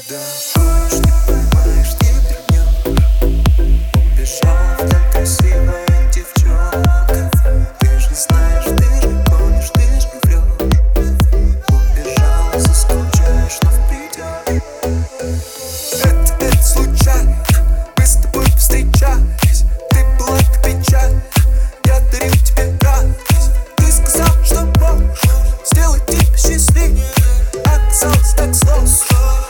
Догонишь, не поймаешь, не вернешь. Убежала вдаль красивая девчонка. Ты же знаешь, ты же гонишь, ты же врешь. Убежала, заскучаешь, но придешь. Это случайно, мы с тобой повстречались. Ты была как печаль, я дарил тебе радость. Ты сказал, что можешь сделать тебя счастливее. Оказалось так сложно.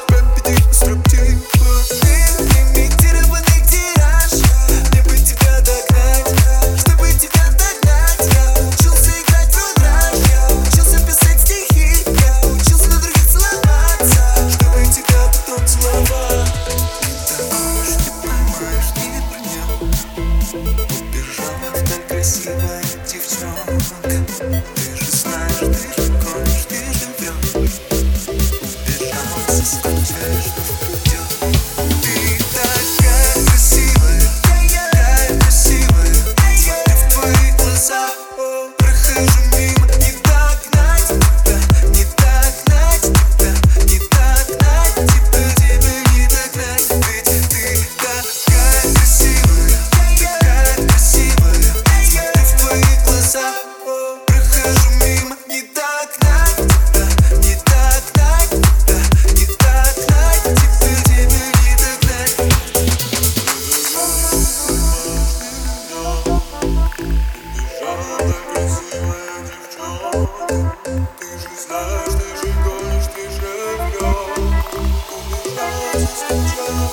Красивая девчонка, ты же знаешь, ты же гонишь, ты же врешь. Убежала, заскучаешь, но придет. Ты такая красивая, такая красивая. Смотрю в твои глаза, прохожу мимо. Не догнать тебя, не догнать тебя, не догнать тебя, тебя не догнать. Ведь ты такая красивая, такая красивая. Прохожу мимо, не догнать тебя, не догнать тебя, не догнать тебя, тебя не догнать. Убежала красивая девчонка. Ты же знаешь, ты же гонишь, ты же врешь. Убежала, заскучала,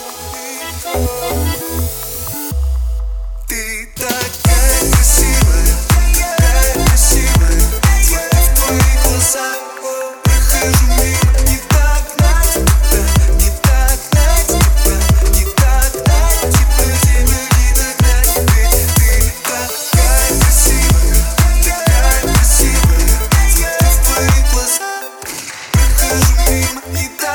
ты такая красивая, такая красивая. Смотрю в твои глаза, прохожу мимо. Не догнать тебя, не догнать тебя, не догнать тебя, тебя не догнать. Ведь ты такая красивая, такая красивая. Смотрю в твои глаза, прохожу мимо. Не